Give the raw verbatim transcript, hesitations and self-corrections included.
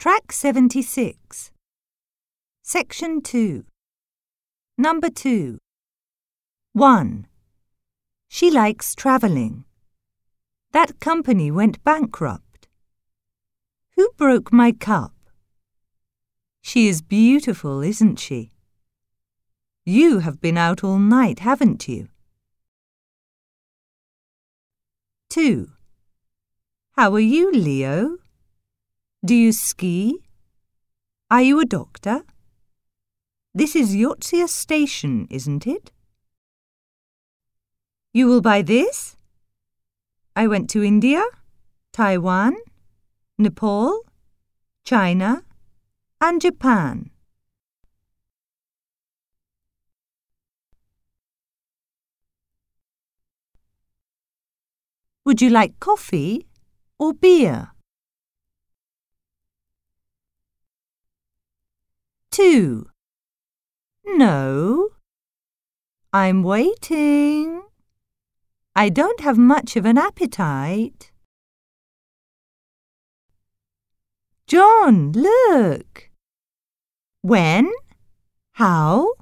Track seventy-six. Section two. Number two. one. She likes travelling. That company went bankrupt. Who broke my cup? She is beautiful, isn't she? You have been out all night, haven't you? two. How are you, Leo? Do you ski? Are you a doctor? This is Yotsia Station, isn't it? You will buy this? I went to India, Taiwan, Nepal, China, and Japan. Would you like coffee or beer? two. No. I'm waiting. I don't have much of an appetite. John, look. When? How?